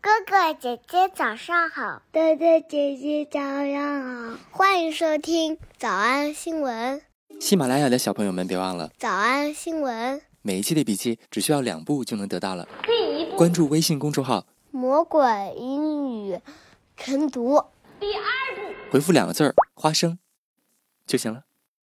哥哥姐姐早上好， 哥哥姐姐早上好， 欢迎收听早安新闻。 喜马拉雅的小朋友们别忘了早安新闻， 每一期的笔记只需要2步就能得到了。第1步，关注微信公众号魔鬼英语晨读。 第2步， 回复2个字花生就行了。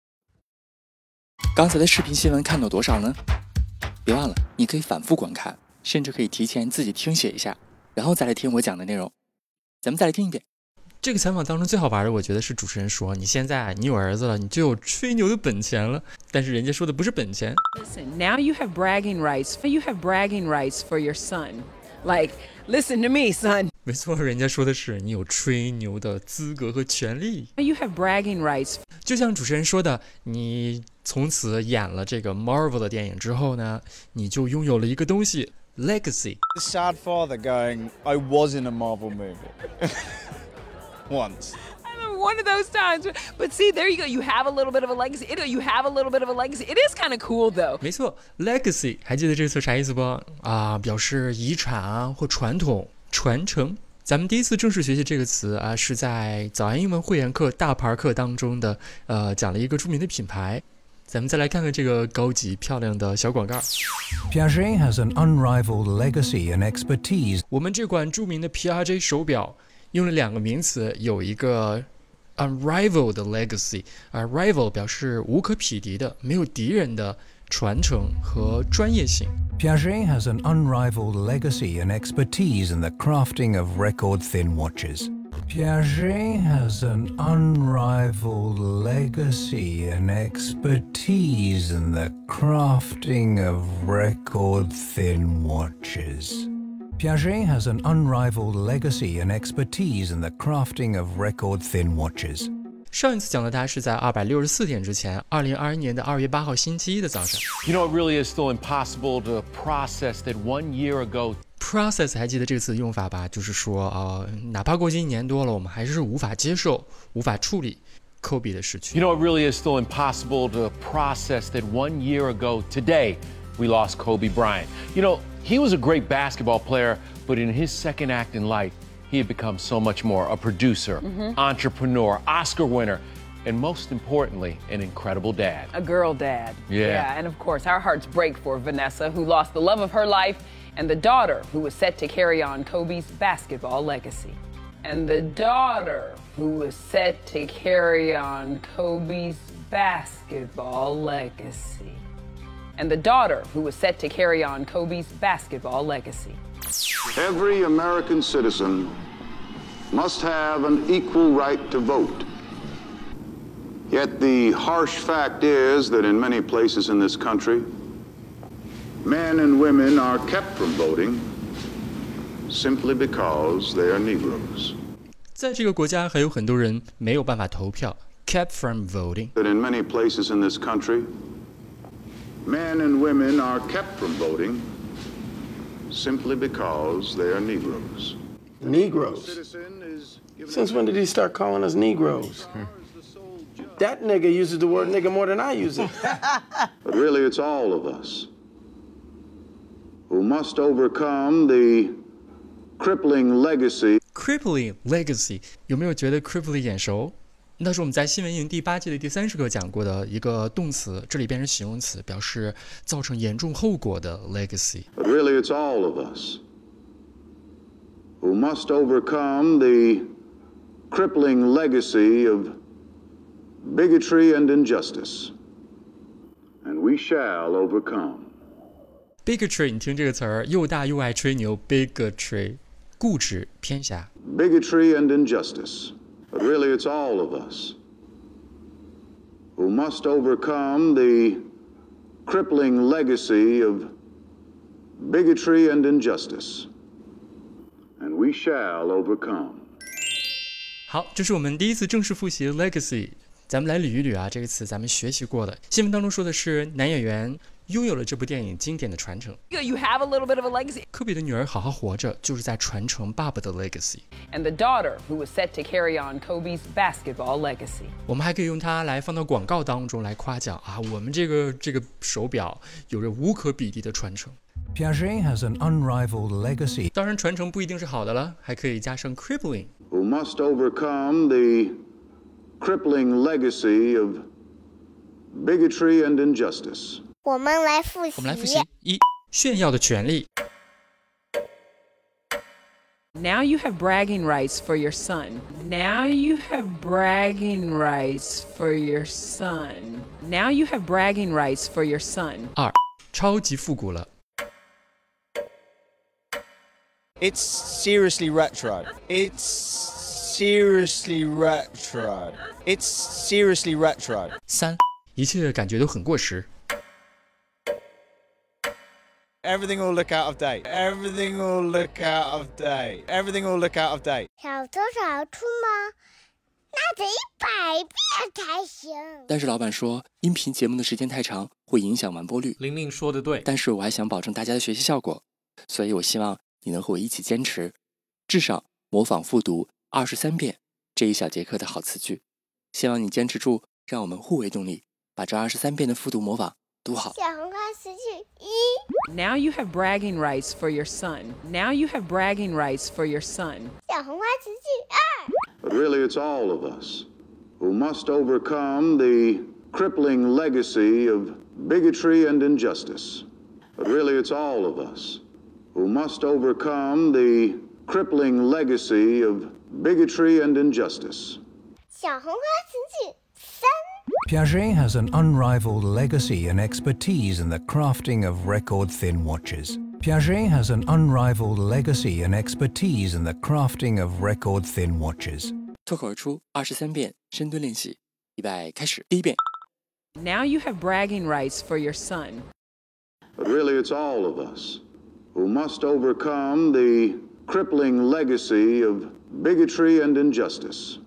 刚才的视频新闻看到多少呢？别忘了你可以反复观看，甚至可以提前自己听写一下，然后再来听我讲的内容。咱们再来听一遍。 这个采访当中最好玩的，我觉得是主持人说你现在你有儿子了，你就有吹牛的本钱了，但是人家说的不是本钱。 Listen, now you have bragging rights. You have bragging rights for your son. Like, listen to me, son. 没错，人家说的是你有吹牛的资格和权利。 You have bragging rights. 就像主持人说的，你从此演了这个 Marvel 的电影之后呢，你就拥有了一个东西 legacy。 The sad father going, I was in a Marvel movie. Once. One of those times. But see, there you go. You have a little bit of a legacy. You have a little bit of a legacy. It is kind of cool, though. 没错 legacy 还记得这个词啥意思不啊？表示遗产啊或传统传承。咱们第一次正式学习这个词啊，是在早安英文会员课大牌课当中的讲了一个著名的品牌。咱们再来看看这个高级漂亮的小广告。 Piaget has an unrivaled legacy and expertise. 我们这款著名的 Piaget 手表用了2个名词，有一个 unrivaled legacy， rival 表示无可匹敌的、没有敌人的传承和专业性。 Piaget has an unrivaled legacy and expertise in the crafting of record-thin watches. Piaget has an unrivaled legacy and expertise in the crafting of record-thin watches. Piaget has an unrivaled legacy and expertise in the crafting of record-thin watches. 上一次讲的它是在264天之前，2021年的2月8号星期一的早上。 You know, it really is still impossible to process that 1 year ago. Process 还记得这个词的用法吧？就是说哪怕过去1年多了，我们还是无法接受、无法处理科比的逝去。 You know, it really is still impossible to process that 1 year ago today we lost Kobe Bryant. You know, he was a great basketball player, but in his second act in life, he had become so much more a producer, entrepreneur, Oscar winner, and most importantly, an incredible dad. A girl dad. Yeah. And of course, our hearts break for Vanessa, who lost the love of her life, and the daughter who was set to carry on Kobe's basketball legacy. And the daughter who was set to carry on Kobe's basketball legacy. And the daughter who was set to carry on Kobe's basketball legacy. Every American citizen must have an equal right to vote. Yet the harsh fact is that in many places in this country, men and women are kept from voting simply because they are Negroes. 在这个国家还有很多人没有办法投票 kept from voting. That in many places in this country, men and women are kept from voting simply because they are Negroes. Negroes? Since when did he start calling us Negroes? That nigga uses the word nigga more than I use it. But really, it's all of us who must overcome the crippling legacy. Crippling legacy 有没有觉得 crippling 眼熟？那是我们在新闻营第8季的第30课讲过的一个动词，这里变成形容词，表示造成严重后果的 legacy。 But really, it's all of us who must overcome the crippling legacy of bigotry and injustice. And we shall overcome. Bigotry 你听这个词儿，又大又爱吹牛 bigotry 固执偏狭。 Bigotry and injustice. But really, it's all of us who must overcome the crippling legacy of bigotry and injustice. And we shall overcome. 好，这是我们第一次正式复习 legacy。咱们来捋一捋啊，这个词咱们学习过的。新闻当中说的是男演员拥有了这部电影经典的传承。 You have a little bit of a legacy. 科比的女儿好好活着，就是在传承爸爸的 legacy。 And the daughter who was set to carry on Kobe's basketball legacy. 我们还可以用它来放到广告当中来夸奖啊，我们这个手表有着无可比拟的传承。 Piaget has an unrivaled legacy. 当然，传承不一定是好的了，还可以加上 crippling。 Who must overcome the crippling legacy of bigotry and injustice. 我们来复习。 我们来复习：一、炫耀的权利。 Now you have bragging rights for your son. Now you have bragging rights for your son. Now you have bragging rights for your son. 二、超级复古了。 It's seriously retro. It's seriously retro. It's seriously retro. 三、一切感觉都很过时。 Everything will look out of date. Everything will look out of date. Everything will look out of date. 小偷小出吗？那得100遍才行。 但是老板说，音频节目的时间太长，会影响完播率。 玲玲说的对， 但是我还想保证大家的学习效果，所以我希望你能和我一起坚持，至少模仿复读23遍这一小节课的好词句。希望你坚持住，让我们互为动力，把这23遍的复读模仿读好。 小红花词句1。 Now you have bragging rights for your son. Now you have bragging rights for your son. 小红花词句2。 But really, it's all of us who must overcome the crippling legacy of bigotry and injustice. But really, it's all of us who must overcome the crippling legacy of bigotry and injustice. 小红花词句3。 Piaget has an unrivaled legacy and expertise in the crafting of record-thin watches. Piaget has an unrivaled legacy and expertise in the crafting of record-thin watches. 脱口而出23遍深蹲练习，预备开始。第一遍。 Now you have bragging rights for your son. But really, it's all of us who must overcome the crippling legacy of bigotry and injustice.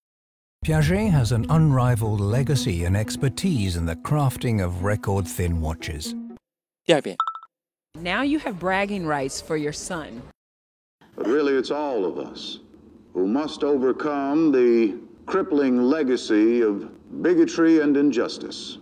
Piaget has an unrivaled legacy and expertise in the crafting of record-thin watches. 第二遍。 Now you have bragging rights for your son. But really, it's all of us who must overcome the crippling legacy of bigotry and injustice.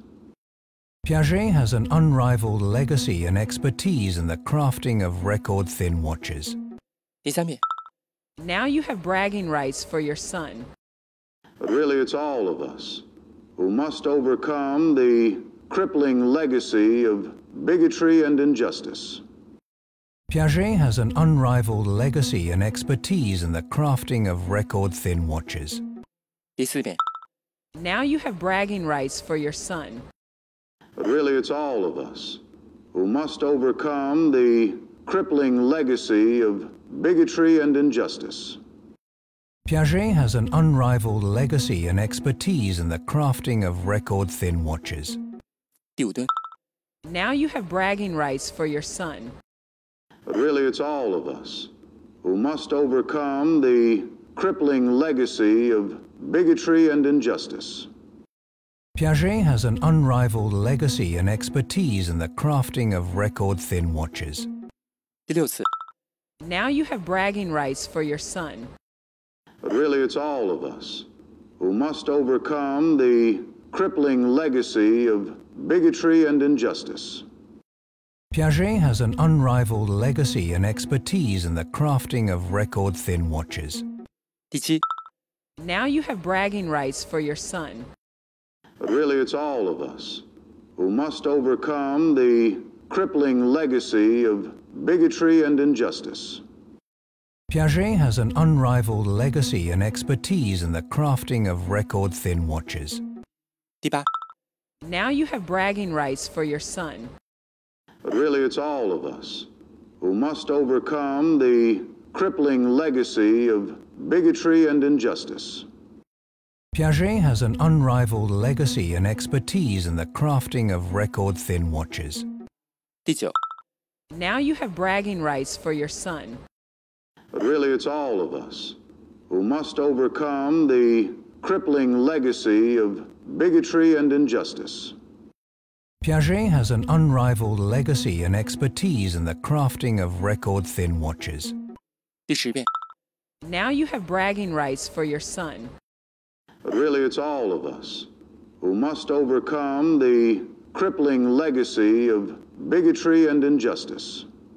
Piaget has an unrivaled legacy and expertise in the crafting of record-thin watches. 第三遍。 Now you have bragging rights for your son. But really, it's all of us who must overcome the crippling legacy of bigotry and injustice. Piaget has an unrivaled legacy and expertise in the crafting of record-thin watches. 第四遍。 Now you have bragging rights for your son. But really, it's all of us who must overcome the crippling legacy of bigotry and injustice. Piaget has an unrivaled legacy and expertise in the crafting of record-thin watches. 第五蹲。 Now you have bragging rights for your son. But really, it's all of us who must overcome the crippling legacy of bigotry and injustice. Piaget has an unrivaled legacy and expertise in the crafting of record-thin watches. 第六次。 Now you have bragging rights for your son. But really, it's all of us who must overcome the crippling legacy of bigotry and injustice. Piaget has an unrivaled legacy and expertise in the crafting of record-thin watches. 第七。 Now you have bragging rights for your son. But really, it's all of us who must overcome the crippling legacy of bigotry and injustice. Piaget has an unrivaled legacy and expertise in the crafting of record-thin watches. 第八。 Now you have bragging rights for your son. But really, it's all of us who must overcome the crippling legacy of bigotry and injustice. Piaget has an unrivaled legacy and expertise in the crafting of record-thin watches. 第九。 Now you have bragging rights for your son. But really, it's all of us who must overcome the crippling legacy of bigotry and injustice. Piaget has an unrivaled legacy and expertise in the crafting of record-thin watches. 第十遍。 Now you have bragging rights for your son. But really, it's all of us who must overcome the crippling legacy of bigotry and injustice.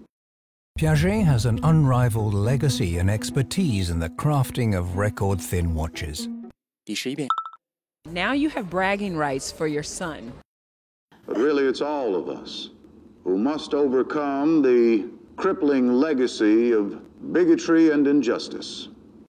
Piaget has an unrivaled legacy and expertise in the crafting of record-thin watches. 第11遍。 Now you have bragging rights for your son. But really, it's all of us who must overcome the crippling legacy of bigotry and injustice.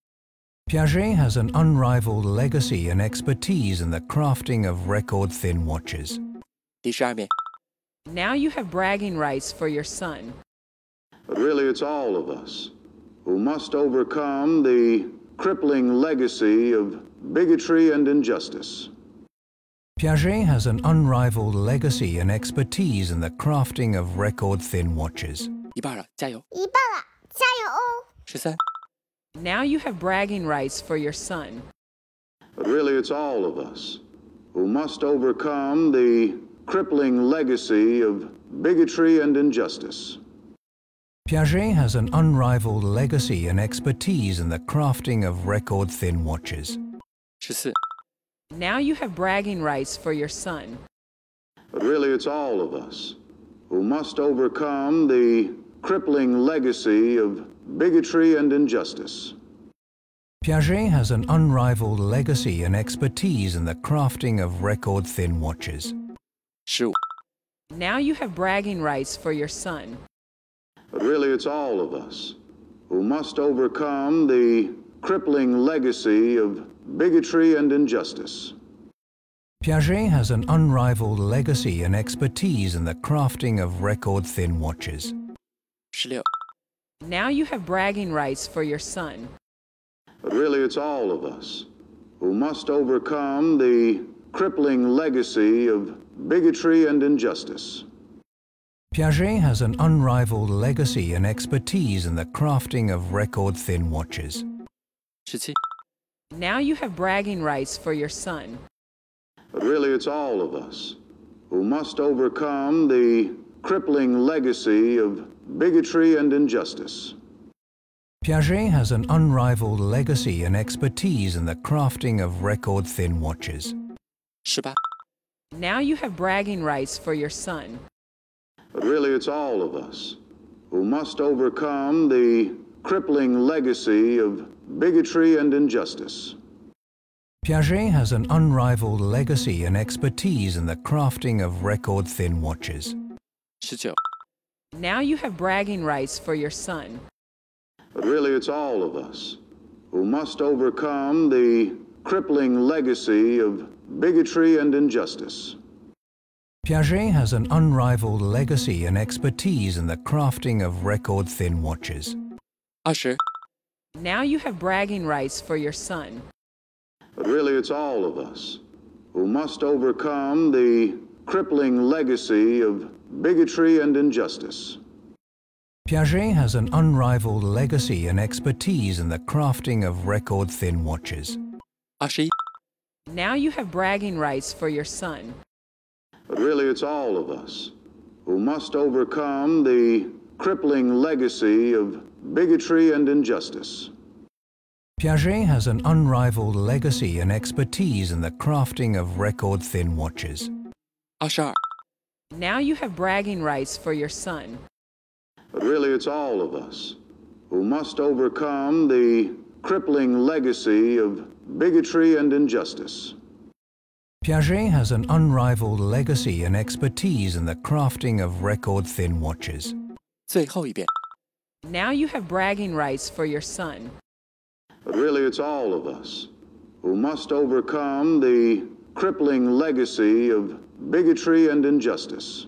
Piaget has an unrivaled legacy and expertise in the crafting of record-thin watches. 第12遍。 Now you have bragging rights for your son. But really, it's all of us who must overcome the crippling legacy of bigotry and injustice. Piaget has an unrivaled legacy and expertise in the crafting of record-thin watches. 一半了，加油！ 一半了，加油哦 13。 Now you have bragging rights for your son. But really, it's all of us who must overcome the crippling legacy of bigotry and injustice. Piaget has an unrivaled legacy and expertise in the crafting of record-thin watches. 14。 Now you have bragging rights for your son. But really, it's all of us who must overcome the crippling legacy of bigotry and injustice. Piaget has an unrivaled legacy and expertise in the crafting of record-thin watches. 15。 Now you have bragging rights for your son. But really, it's all of us who must overcome the crippling legacy of bigotry and injustice. Piaget has an unrivaled legacy and expertise in the crafting of record-thin watches. 16。 Now you have bragging rights for your son. But really, it's all of us who must overcome the crippling legacy of bigotry and injustice. Piaget has an unrivaled legacy and expertise in the crafting of record-thin watches. 17。 Now you have bragging rights for your son. But really, it's all of us who must overcome the crippling legacy of bigotry and injustice. Piaget has an unrivaled legacy and expertise in the crafting of record-thin watches. 18。 Now you have bragging rights for your son. But really, it's all of us who must overcome the crippling legacy of bigotry and injustice. Piaget has an unrivaled legacy and expertise in the crafting of record-thin watches. 19。 Now you have bragging rights for your son. But really, it's all of us who must overcome the crippling legacy of bigotry and injustice. Piaget has an unrivaled legacy and expertise in the crafting of record-thin watches. 20。 Now you have bragging rights for your son. But really, it's all of us who must overcome the crippling legacy of bigotry and injustice. Piaget has an unrivaled legacy and expertise in the crafting of record-thin watches. 21。 Now you have bragging rights for your son. But really, it's all of us who must overcome the crippling legacy of bigotry and injustice. Piaget has an unrivaled legacy and expertise in the crafting of record-thin watches. 22。 Now you have bragging rights for your son. But really, it's all of us who must overcome the crippling legacy of bigotry and injustice. Piaget has an unrivaled legacy and expertise in the crafting of record-thin watches. 最后一遍。 Now you have bragging rights for your son. But really, it's all of us who must overcome the crippling legacy of bigotry and injustice.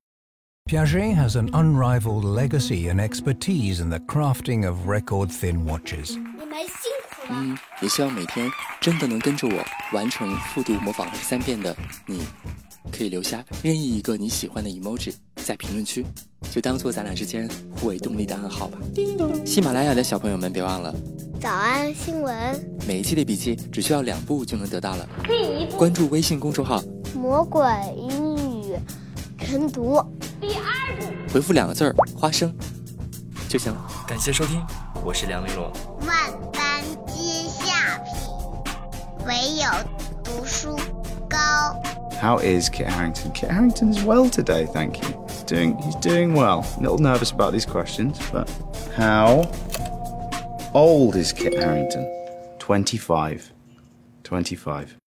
Piaget has an unrivaled legacy and expertise in the crafting of record-thin watches. 你们辛苦了。 也希望每天真的能跟着我完成复读模仿3遍的你，可以留下任意一个你喜欢的 emoji 在评论区，就当做咱俩之间互为动力的暗号吧。喜马拉雅的小朋友们别忘了， 早安新闻， 每一期的笔记只需要2步就能得到了。关注微信公众号魔鬼英语晨读。 回复2个字儿花生就行了。感谢收听，我是梁丽罗。 万般皆下品，唯有读书高。 糕。 How is Kit Harington? Kit Harington is well today, thank you. He's doing well. A little nervous about these questions, but how old is Kit Harington? 25. 25.